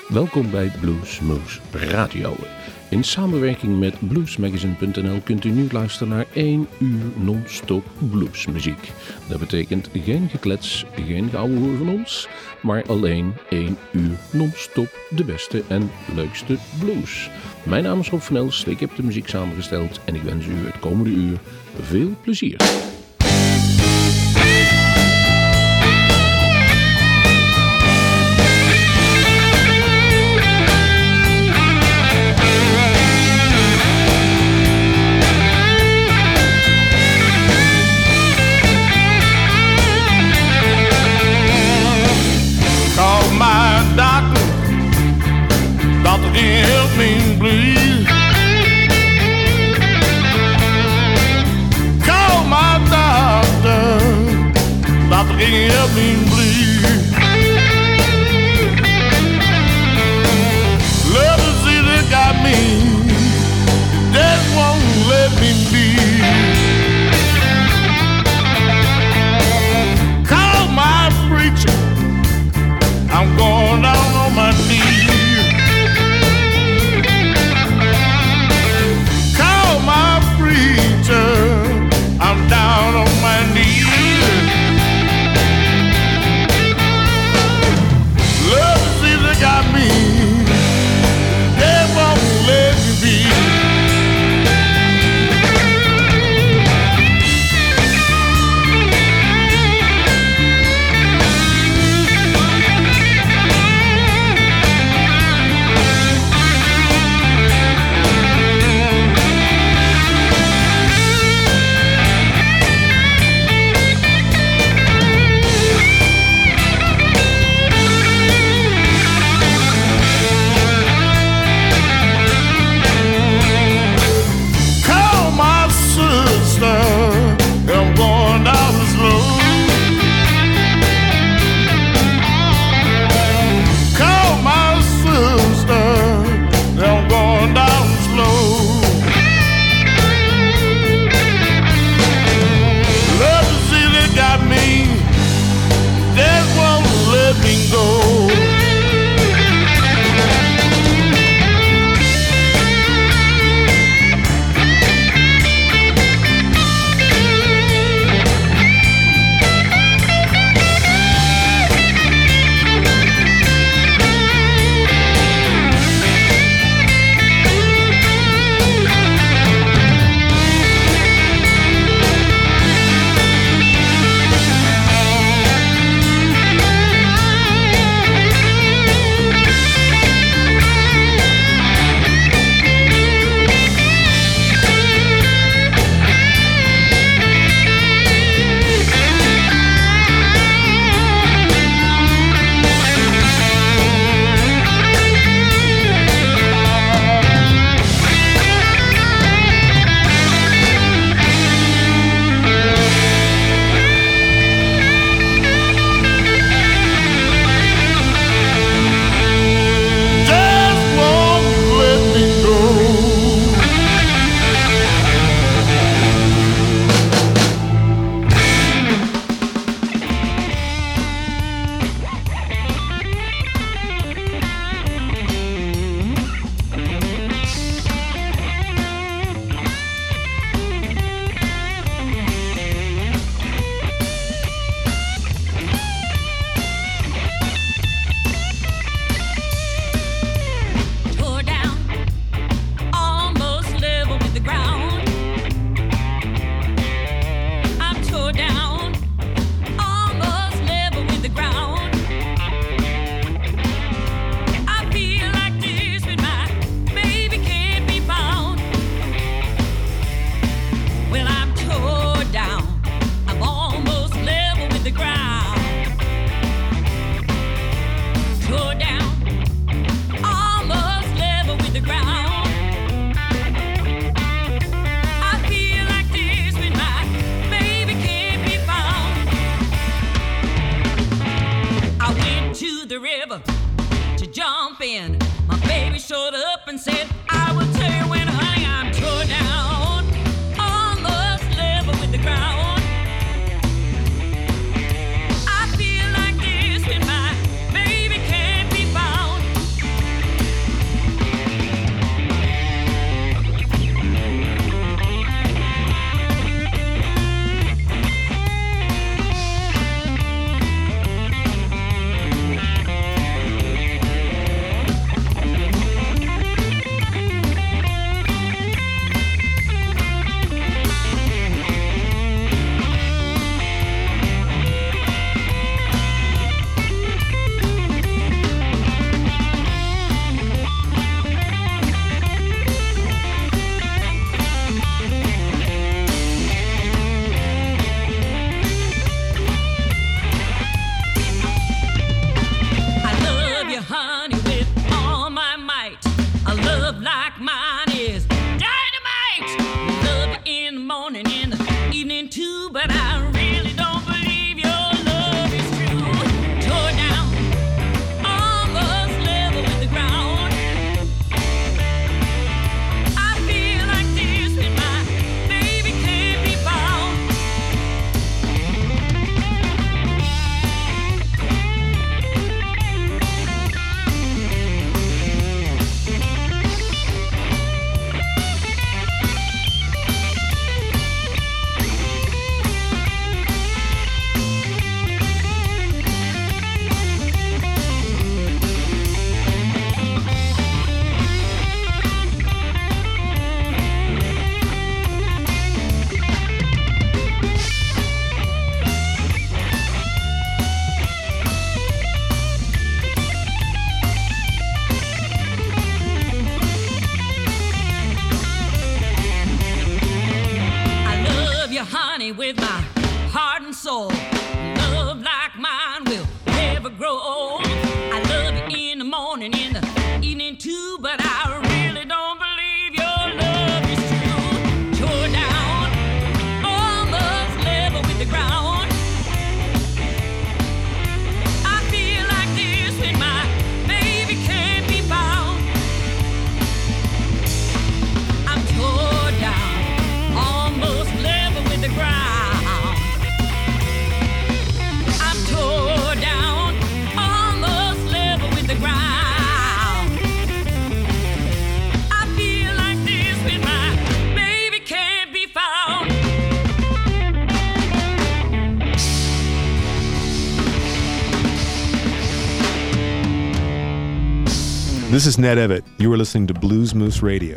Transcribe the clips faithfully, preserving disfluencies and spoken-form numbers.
Welkom bij Bluesmoose Radio. In samenwerking met bluesmagazine punt n l kunt u nu luisteren naar één uur non-stop bluesmuziek. Dat betekent geen geklets, geen geouwehoer van ons, maar alleen één uur non-stop de beste en leukste blues. Mijn naam is Rob van Els, ik heb de muziek samengesteld en ik wens u het komende uur veel plezier. Doctor can't help me bleed. Call my doctor. Doctor can't help me bleed. Love is either got me. Death won't let me be. Call my preacher. I'm going down on my knees. I'm down on my knees. Love has either got me, they won't let me be. This is Ned Evitt. You are listening to Blues Moose Radio.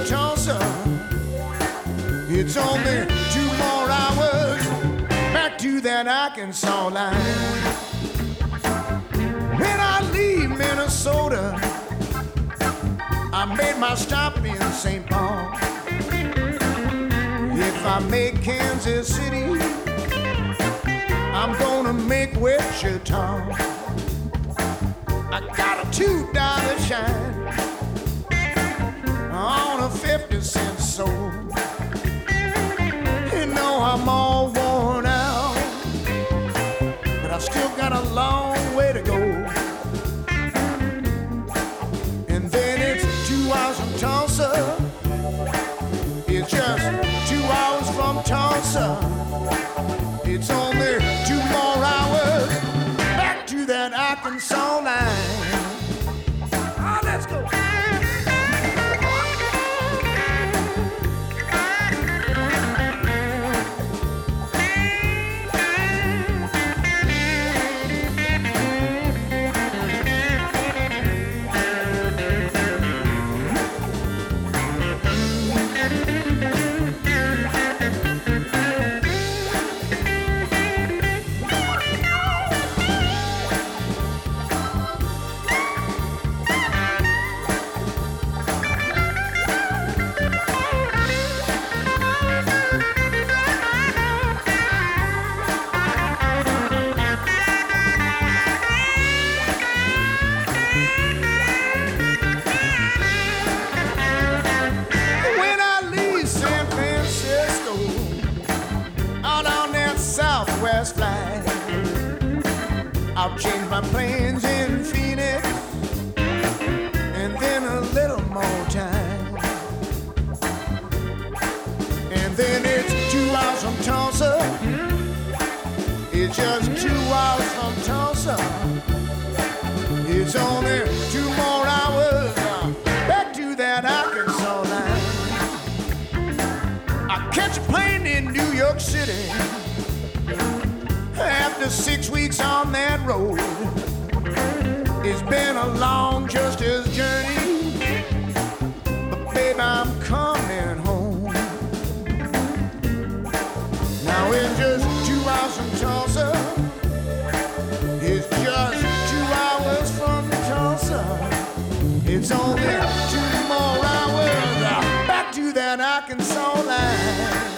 It's only two more hours back to to that Arkansas line. When I leave Minnesota, I made my stop in Saint Paul. If I make Kansas City, I'm gonna make Wichita. I got a two dollar shine on a fifty cent soul. You know I'm all worn out, but I still got a long way to go. And then it's two hours from Tulsa. It's just two hours from Tulsa. It's only two more hours back to that Arkansas line. Oh, let's go. Southwest flight, I'll change my planes in Phoenix, and then a little more time, and then it's two hours from Tulsa. It's just two hours from Tulsa. It's only two more hours uh, back to that Arkansas line. I catch a plane in New York City. After six weeks on that road, it's been a long justice journey, but babe, I'm coming home. Now it's just two hours from Tulsa. It's just two hours from Tulsa. It's only two more hours back to that Arkansas line.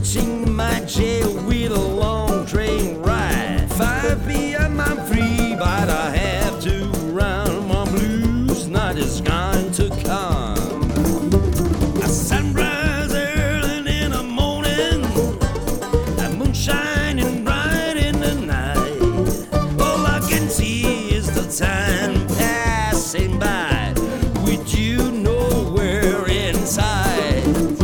reaching my jail with a long train ride. five p.m. I'm free, but I have to run. My blues night is going to come. A sunrise early in the morning, a moon shining bright in the night. All I can see is the time passing by with you nowhere inside.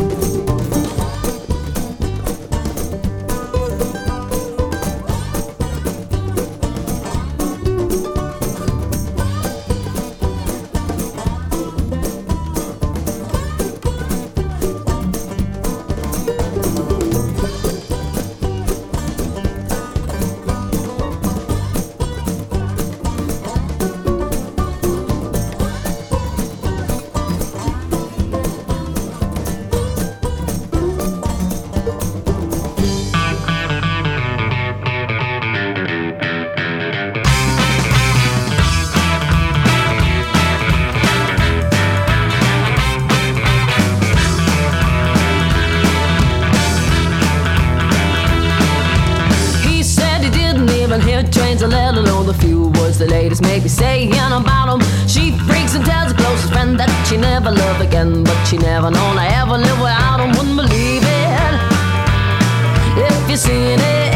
Let alone the few words the ladies may be saying about him. She freaks and tells her closest friend that she never loved again, but she never known I ever live without him. Wouldn't believe it if you seen it.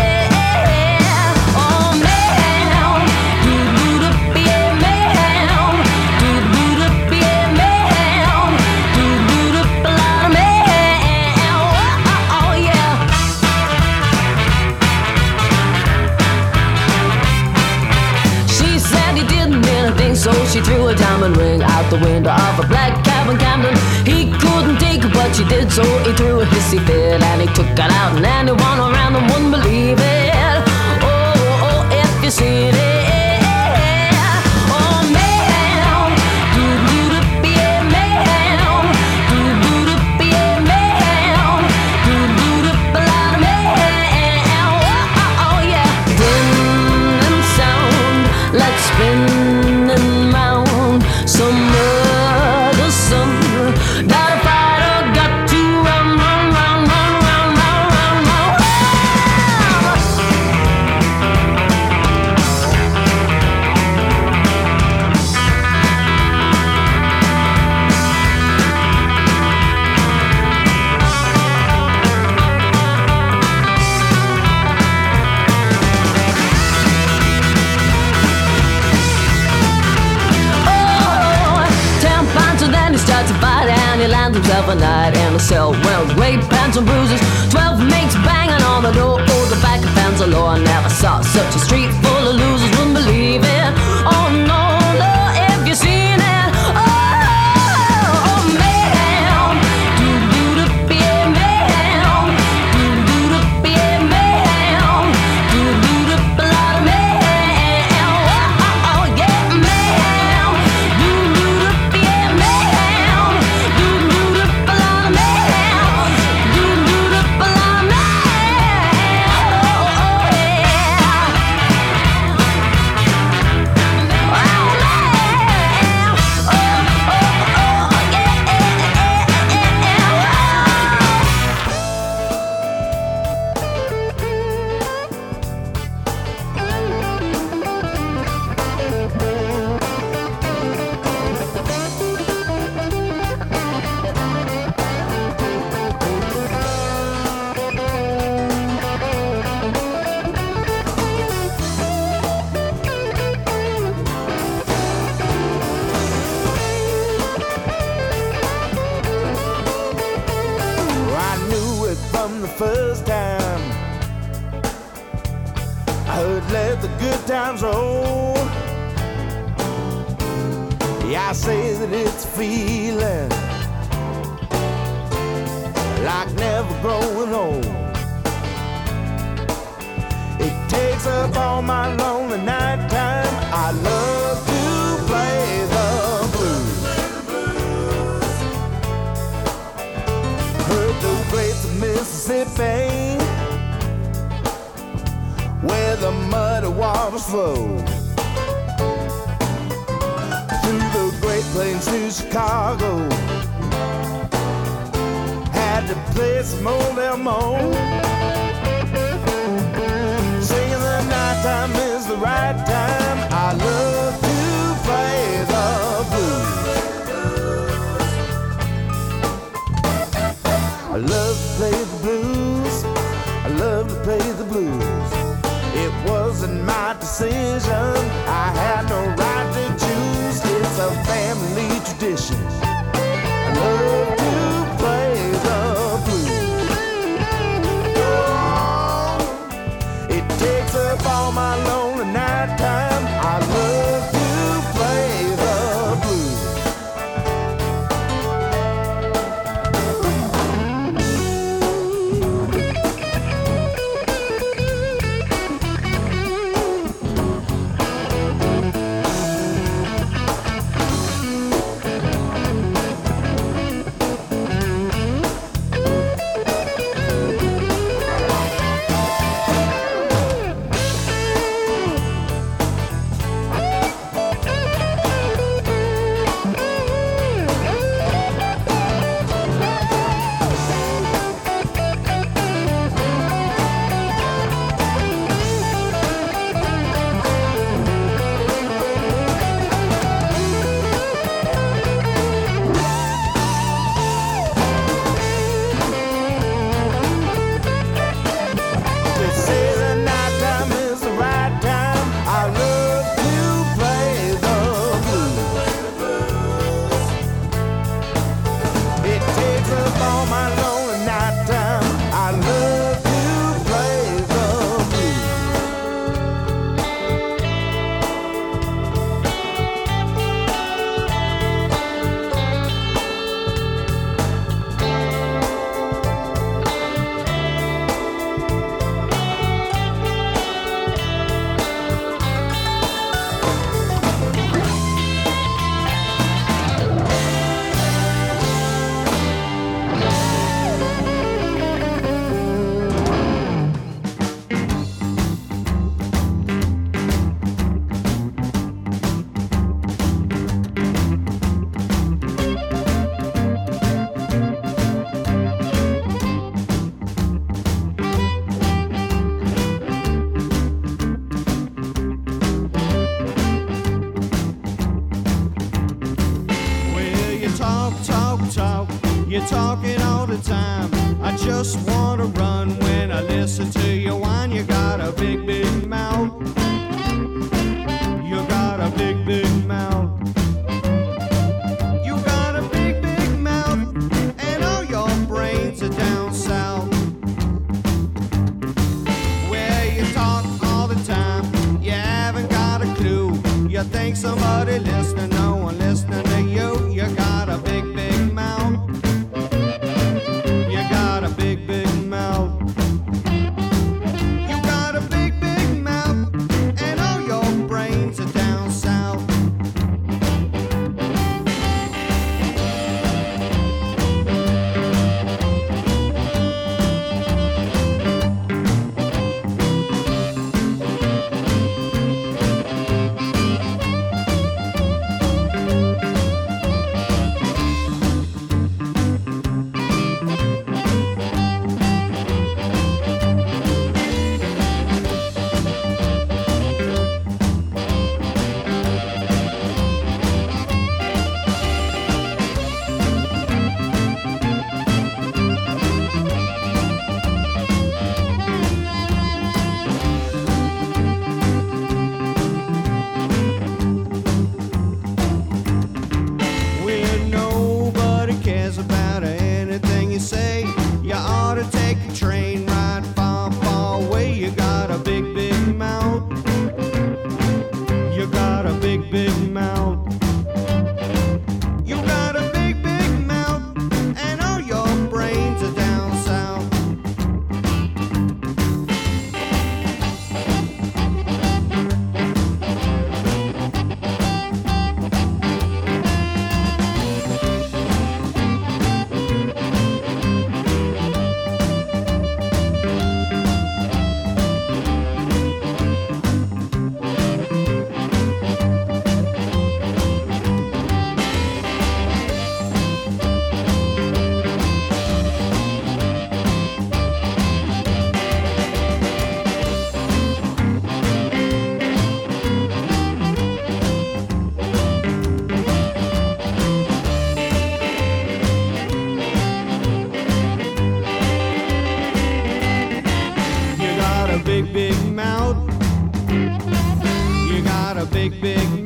Oh man, do do do be a man, do do do be a man, do do do a lot of man. Oh, oh yeah. So she threw a diamond ring out the window of a black cab in Camden. He couldn't take it, but she did, so he threw a hissy fit and he took it out, and anyone around him wouldn't believe it. Oh, oh, oh, if you seen it. Oh man, do do do be a man, do do do be a man, do do do a lot of man. Oh, oh, oh yeah, dim and sound, let's spin some other summer. Got a fighter, got to run, run, run, run, run, run, run, run. Starts to fight and he lands himself a night in a cell. Well, great pants and bruises, twelve mates banging on the door. Oh, the back of fans alone. I never saw such a street full of losers. Wouldn't believe it. Oh no, no, if you seen it. Oh, oh man, do do do be a man, do do do be a man, do do do a lot of man. Oh, oh, oh yeah, man, do do do be a man. Do do do a lot of man, do do do a lot of man. Oh, oh first time I heard let the good times roll. Yeah, I say that it's a feeling like never growing old. It takes up all my lonely night time. I love to play the blues. Heard the greats of Mississippi, where the muddy waters flow, through the Great Plains to Chicago. Had to play some old Elmo. Singing the nighttime is the right time. I love to play the blues. I love to play the blues. I love to play the blues. It wasn't my decision. I had no right to choose. It's a family tradition. I love to play the blues. Oh, it takes up all my lonely nighttime. I love to play the blues. You're talking all the time. I just want to run when I listen to you whine. You got a big, big mouth. You got a big, big mouth. You got a big, big mouth. And all your brains are down south. Where you talk all the time. You haven't got a clue. You think somebody listening, no one listening to you. You got a big, big mouth. You got a big, big mouth. You got a big, big mouth. And all your brains are down south.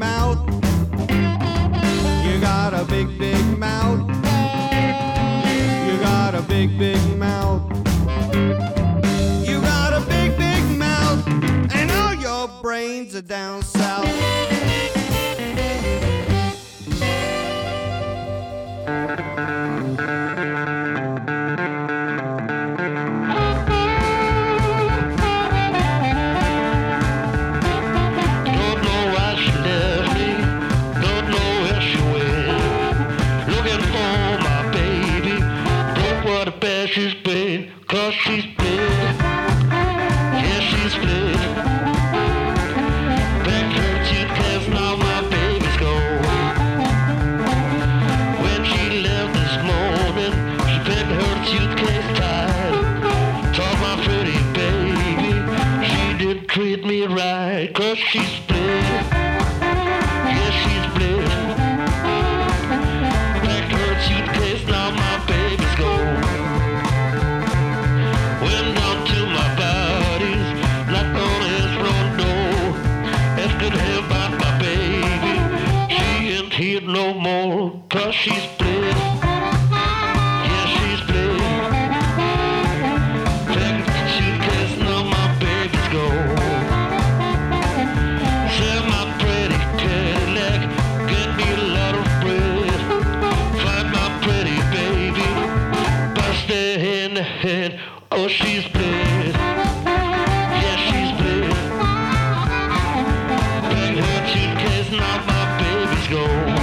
mouth. You got a big, big mouth. You got a big, big mouth. You got a big, big mouth. And all your brains are down south. She's split, cause she's split. Yeah, she's split. Packed her suitcase, now my baby's gone. When she left this morning, she packed her suitcase tight. Told my pretty baby she didn't treat me right, cause she's split. Yeah, she's split. Packed her suitcase, now my baby's gone. Went down to my buddies, knocked on his front door, asking him about my baby. She ain't here no more, cause she's split. Yeah, she's split. Packed the suitcase, now my baby's gone. Sell my pretty Cadillac, get me a lot of bread. Find my pretty baby, bust her in the head. Oh, she's split. Yeah, she's split. Packed her suitcase, now my baby's gone.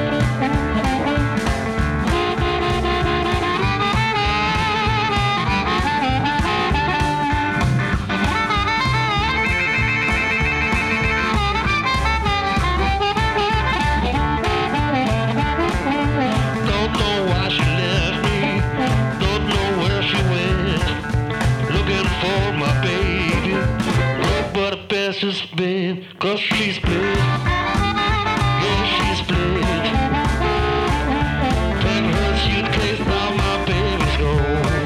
Don't know why she left me. Don't know where she went. Looking for my baby. Look what the best has been, cause she's split. Yeah, she's split. Packed her suitcase, now my baby's gone.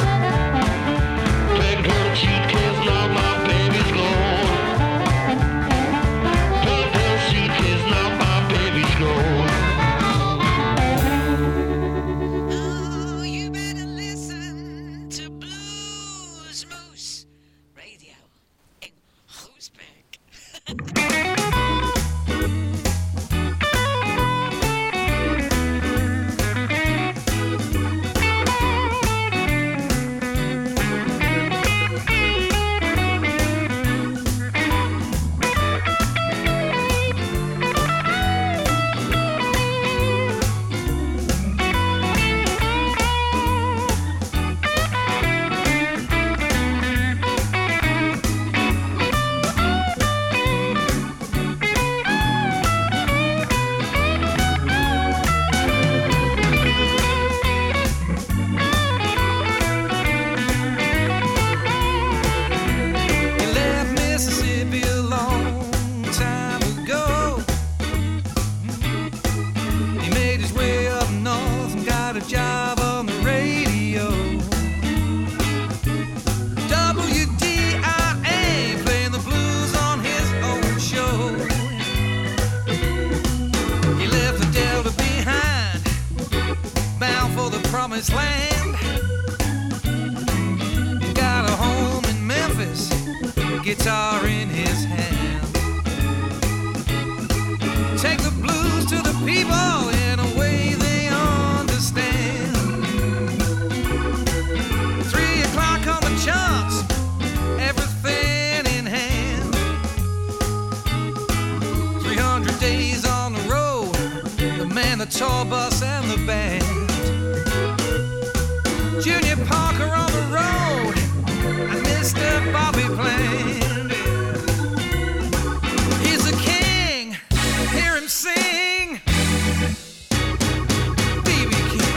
Packed her suitcase, now my baby's gone. Packed her suitcase, now my baby's gone. Oh, you better listen to Blues Moose Radio in Groesbeek. He left Mississippi a long time ago. He made his way up north and got a job on the radio. W D I A playing the blues on his own show. He left the Delta behind, bound for the promised land. Got a home in Memphis, guitar in his hand. Take the blues to the people in a way they understand. Three o'clock on the charts, everything in hand. Three hundred days on the road, the man, the tour bus, and the band. Junior Parker on the road, and Mister Bobby Bland. He's a king, hear him sing. B B King.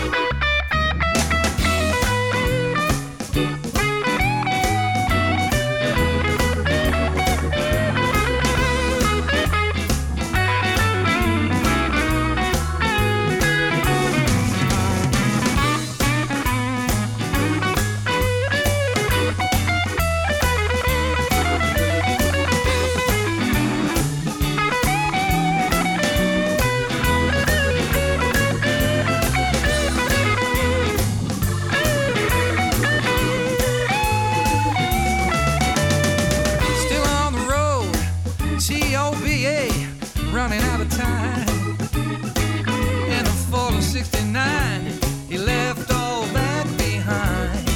time. In the fall of sixty-nine, he left all that behind.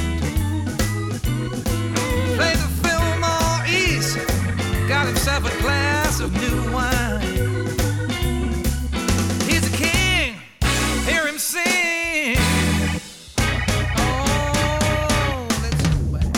Played the Fillmore East, got himself a glass of new wine. He's a king, hear him sing. Oh, let's go back.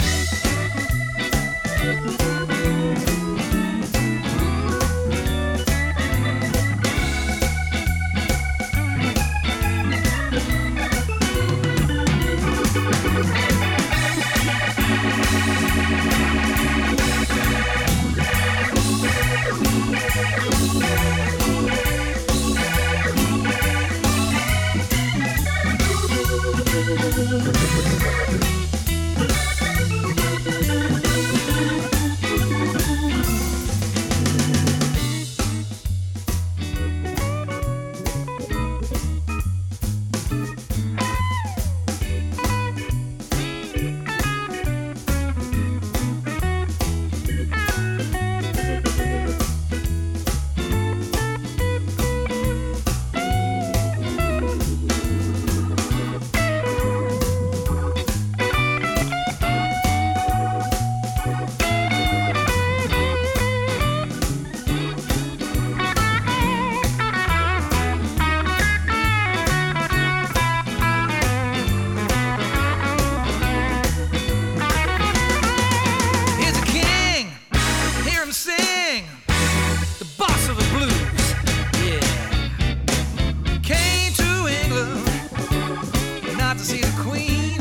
He's a king, hear him sing. The boss of the blues, yeah. Came to England, not to see the Queen.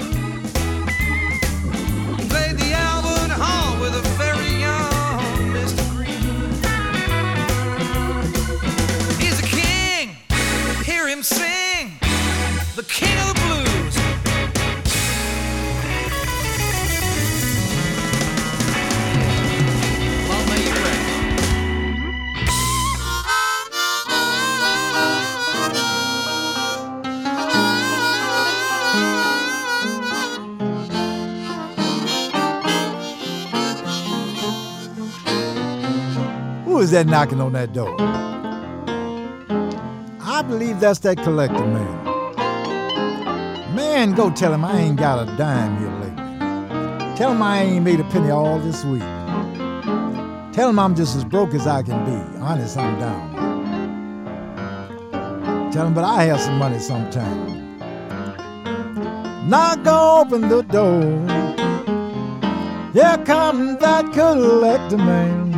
Played the Albert Hall with a very young Mister Green. He's a king, hear him sing. The king of the blues. Long may you reign. Who is that knocking on that door? I believe that's that collector man. Man, go tell him I ain't got a dime here lately. Tell him I ain't made a penny all this week. Tell him I'm just as broke as I can be. Honest, I'm down. Tell him, but I have some money sometime. Knock, open the door. Here comes that collector man.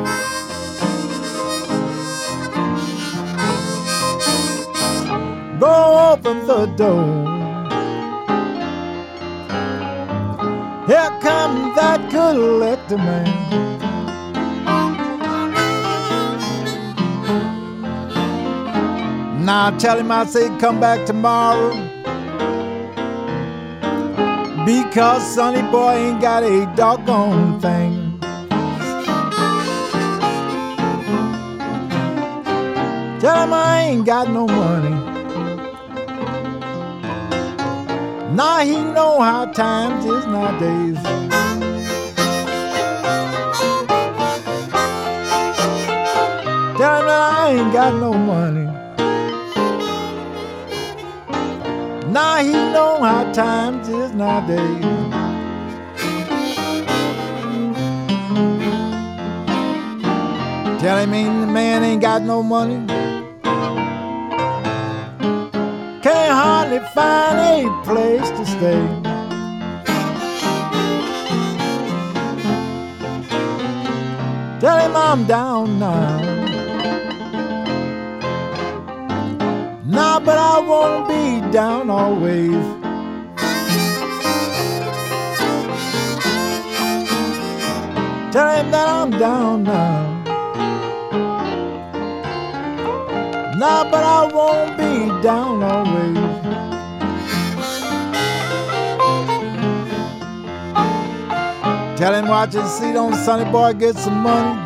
Go open the door. Here comes that collector man. Now tell him I say come back tomorrow, because Sonny boy ain't got a doggone thing. Tell him I ain't got no money. Now he know how times is nowadays. Tell him that I ain't got no money. Now he know how times is nowadays. Tell him ain't the man ain't got no money. Can't hardly find a place to stay. Tell him I'm down now. Nah, but I won't be down always. Tell him that I'm down now. Nah, but I won't be down always. Tell him watch and see, don't Sonny boy get some money.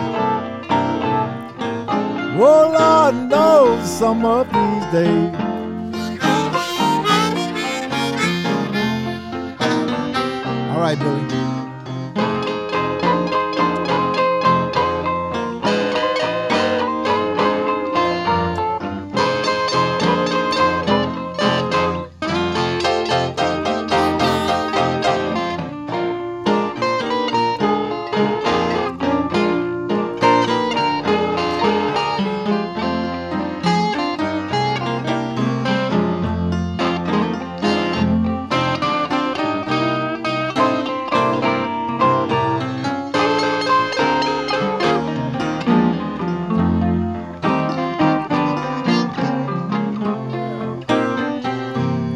Oh, Lord knows some of these days. All right, Billy.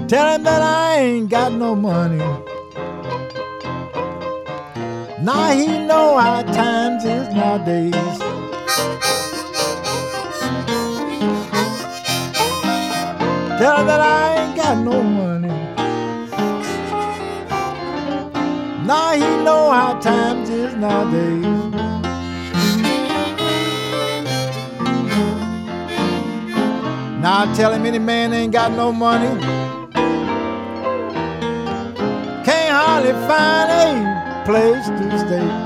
Tell him that I ain't got no money. Now he know how times is nowadays. Tell him that I ain't got no money. Now he know how times is nowadays. Now I tell him any man ain't got no money, can't hardly find a place to stay.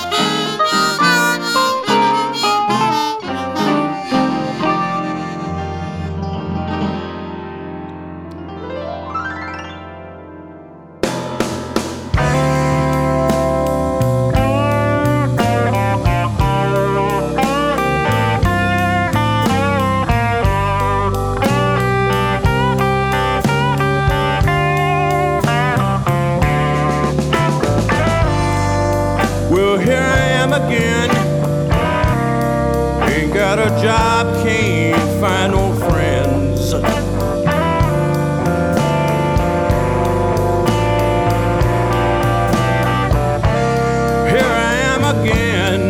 A job, can't find no friends. Here I am again.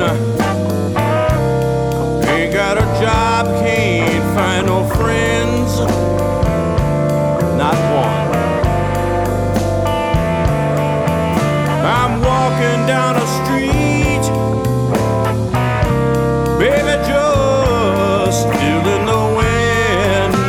Ain't got a job, can't find no friends. Not one. I'm walking down a street, baby, just still in the wind.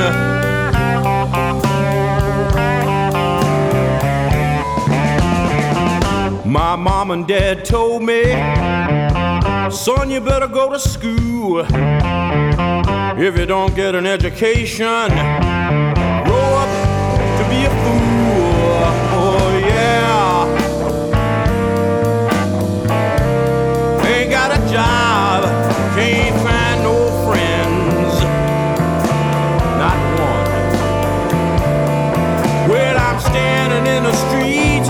My mom and dad told me, son, you better go to school. If you don't get an education, grow up to be a fool. Oh yeah. Ain't got a job, can't find no friends, not one. Well, I'm standing in the street,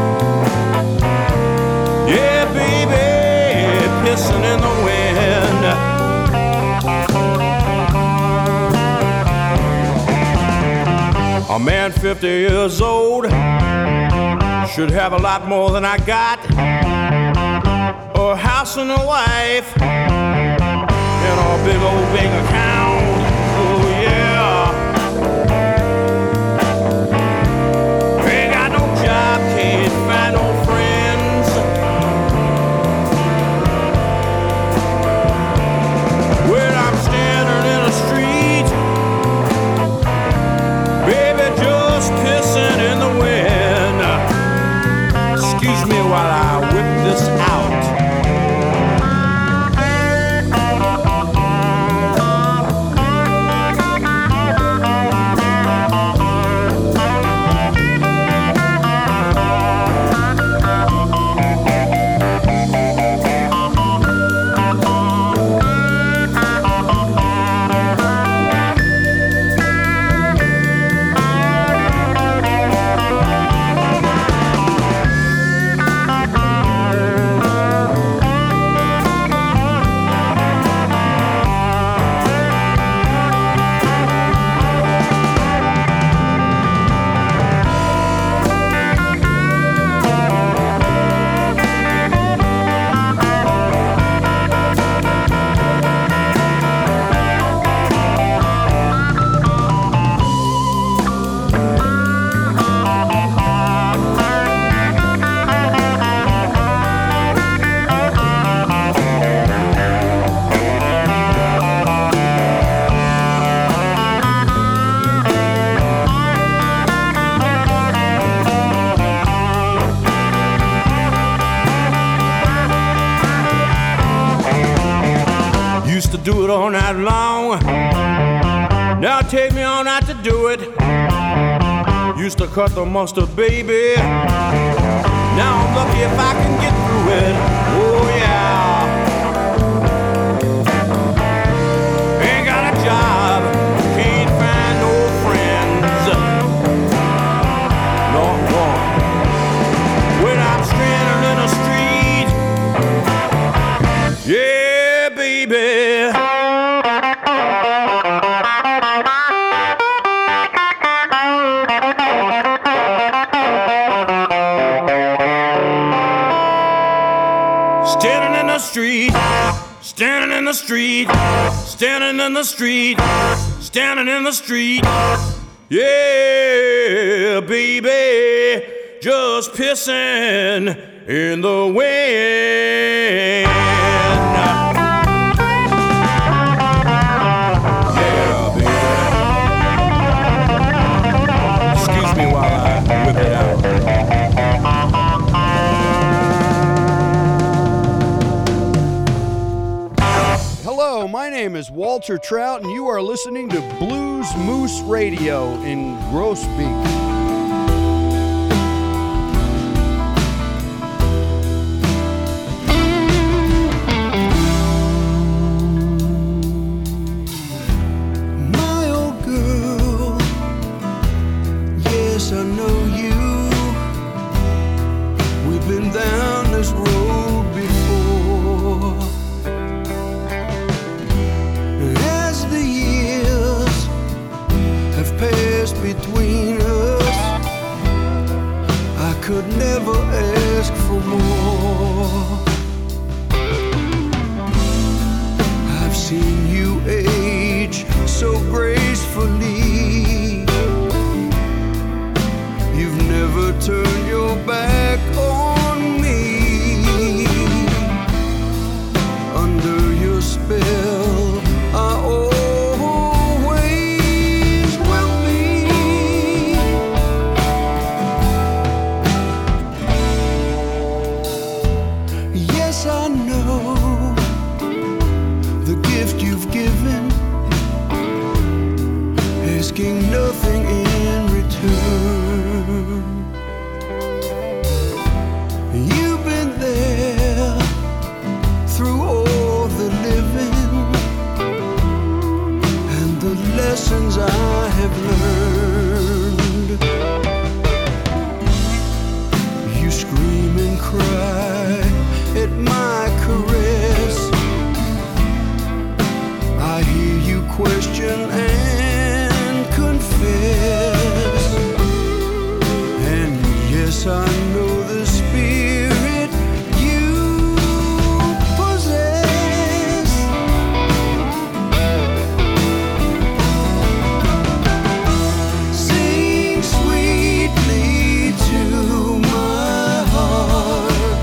yeah, baby, pissing in the wind. A man fifty years old should have a lot more than I got. A house and a wife and a big old bank account. Oh yeah. Ain't got no job, can't find no friends. Well, I'm standing in the street, baby, just pissing in the wind. Excuse me while I whip this out. Do it all night long. Now take me all night to do it. Used to cut the mustard, baby. Now I'm lucky if I can get through it. Oh yeah. Ain't got a job, can't find no friends. Not one. When I'm stranded in the street, yeah, baby. in the street, standing in the street. Yeah, baby, just pissing in the wind. Yeah, baby. Excuse me while I whip it out. Hello, my name is Walter Trout, and you are listening to Blues Moose Radio in Groesbeek. My old girl, yes, I know you. We've been down this road before. As the years have passed between us, I could never ask for more. I've seen you age so gracefully. You've never turned your back on me. Under your spell, I always will be. Yes, I know the gift you've given, asking nothing in return. You've been there through all the living and the lessons I have learned. You scream and cry at my caress. I hear you question and confess. And yes, I know the spirit you possess. Sing sweetly to my heart.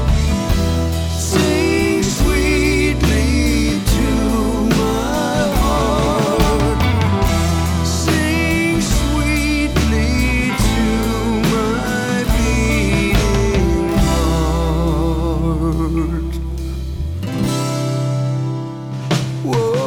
Sing sweetly to my heart. Sing sweetly to my beating heart. Whoa.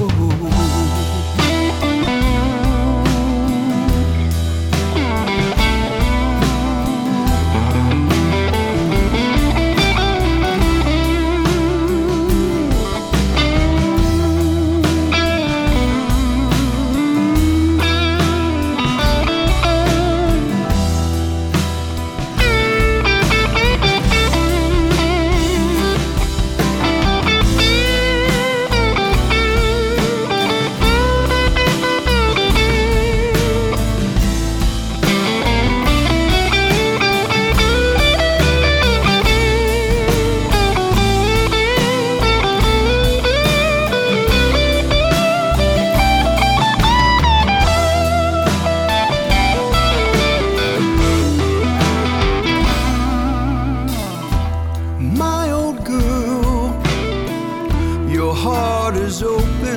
My old girl, your heart is open.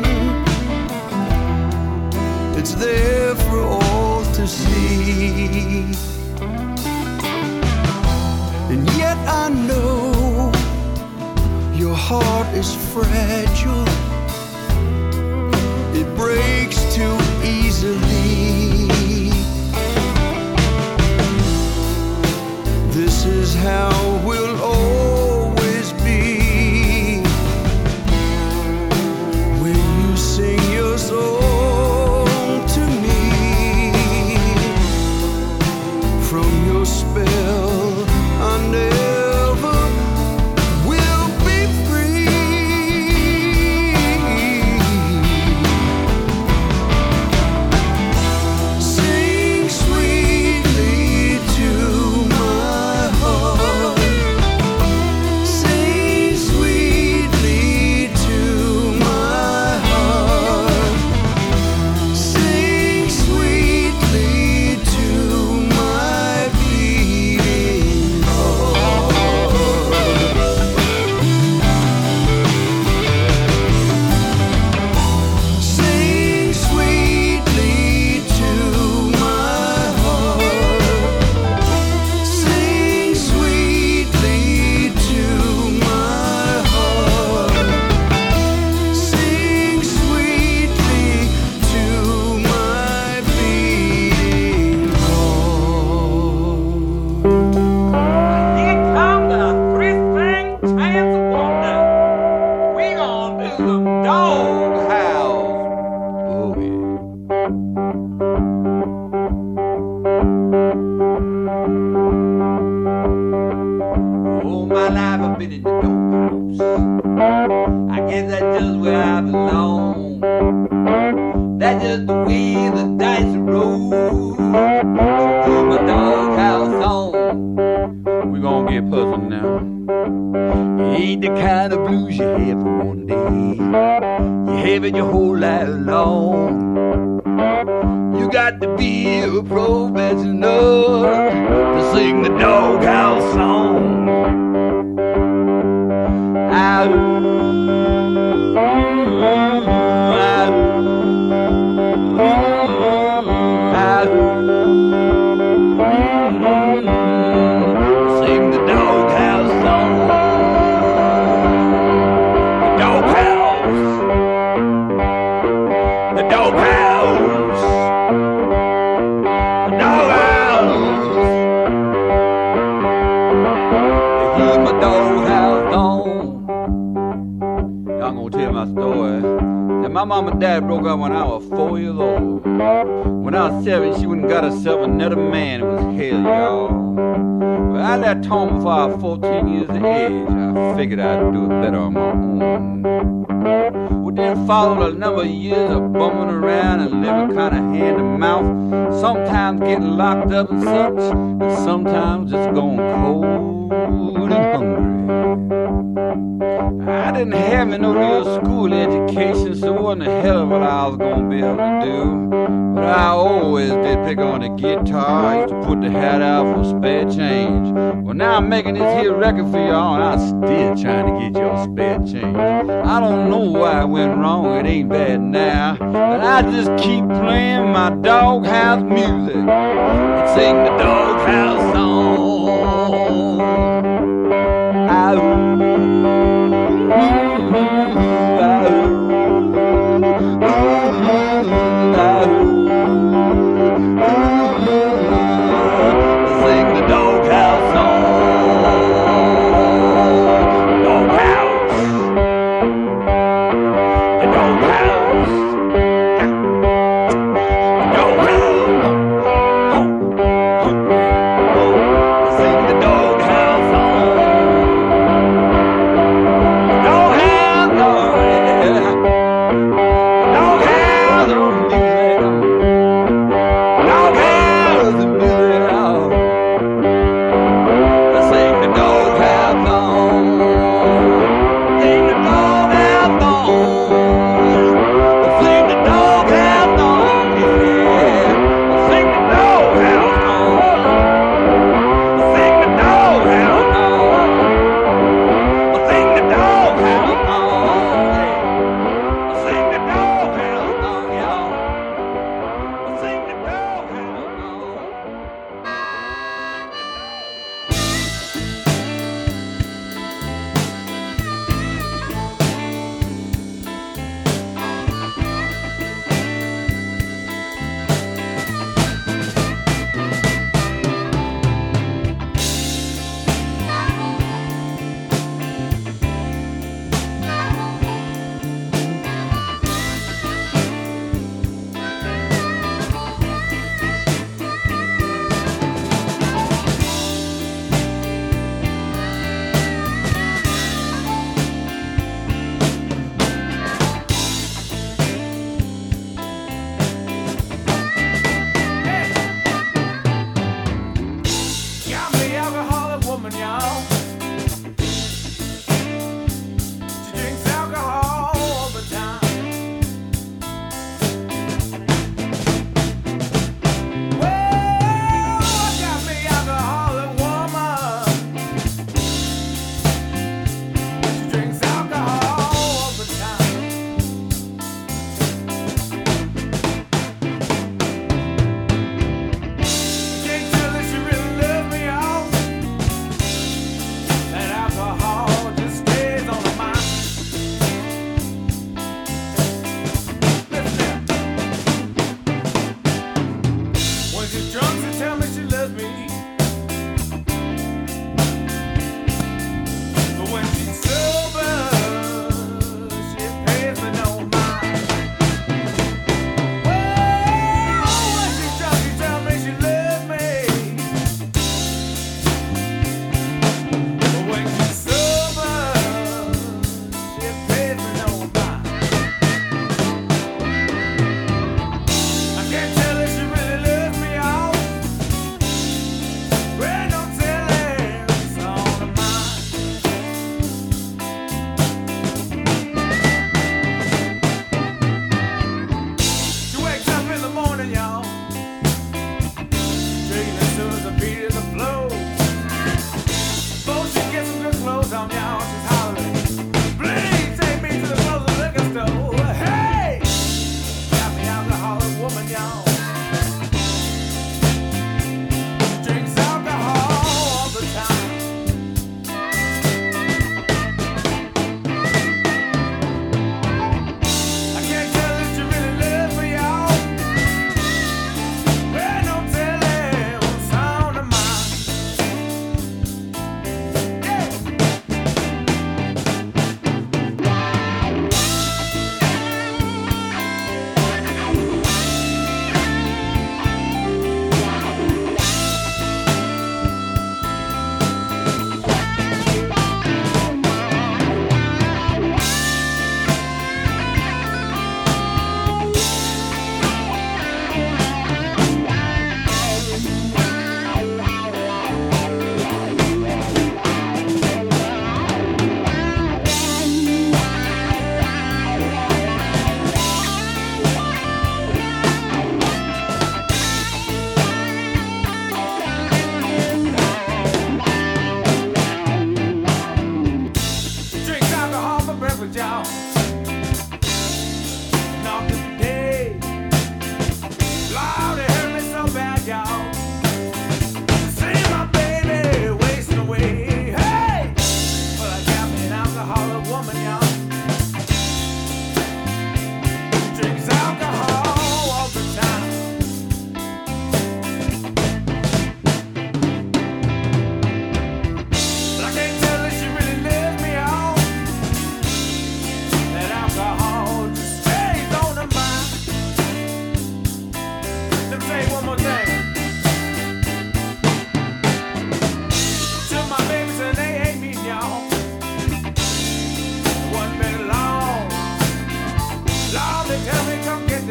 It's there for all to see. And yet I know your heart is fragile. It breaks too easily. This is how we'll always be. When you sing your song to me, from your spell I never will be free. That's just the way the dice roll. Put my doghouse on. We gonna get puzzled now. It ain't the kind of blues you have for one day. You have it your whole life long. You got to be a professional to sing the doghouse song. I sing the doghouse song. The doghouse. The doghouse. The doghouse. They keep my doghouse on. I'm gonna tell my story. That my mom and dad broke up when I was four years old. When I was seven, she went and got herself another man. It was hell, y'all. But I left home before I was fourteen years of age. I figured I'd do it better on my own. We then followed a number of years of bumming around and living kind of hand to mouth. Sometimes getting locked up and such, and sometimes just going cold and hungry. I didn't have me no real school education, so it wasn't a hell of what I was gonna be able to do. But I always did pick on the guitar. I used to put the hat out for spare change. Well, now I'm making this here record for y'all, and I'm still trying to get y'all spare change. I don't know why it went wrong, it ain't bad now, but I just keep playing my doghouse music and sing the doghouse song. I sing the doghouse song. Doghouse. The doghouse. The doghouse. Oh, oh, oh. Sing the doghouse song.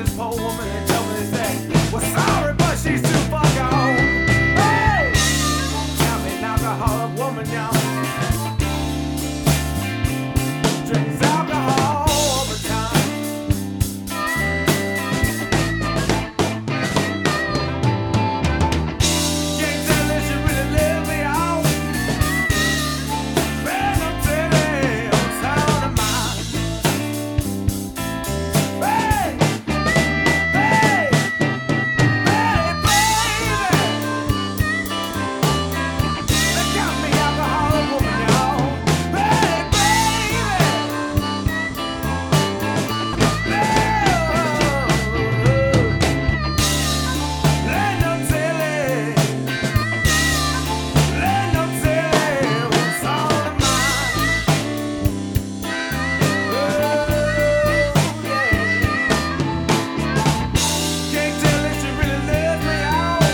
this poor woman and told me that, well, sorry, but she's too far gone. Hey, tell me an alcoholic woman, y'all. Drinks alcohol all the time. Can't tell if she really lives me out. Man, I'm telling on sound of mine. Hey, hey, hey, baby. They got me alcoholic woman, y'all. Hey, baby. Let no telling, let no telling what's on her mind. Oh, yeah. Can't tell if she really lets me out.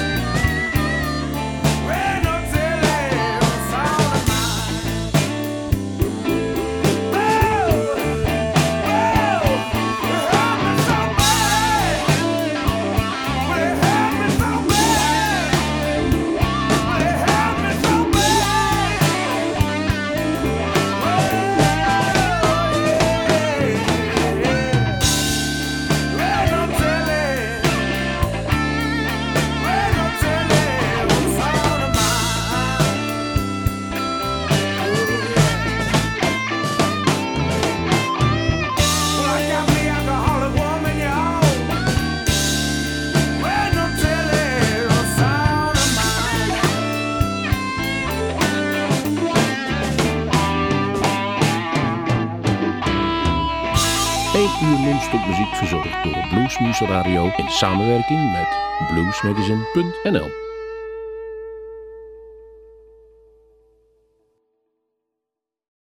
Let no telling what's on her mind. Oh, oh, it hurt me so bad. But it hurt me so bad. But it hurt me so bad. Oh, yeah. Let no telling, let no telling what's on her mind. Well, I got me alcoholic woman, y'all. Let no telling what's on her mind. één uur non-stop muziek verzorgd door Bluesmoose Radio in samenwerking met bluesmagazine punt n l.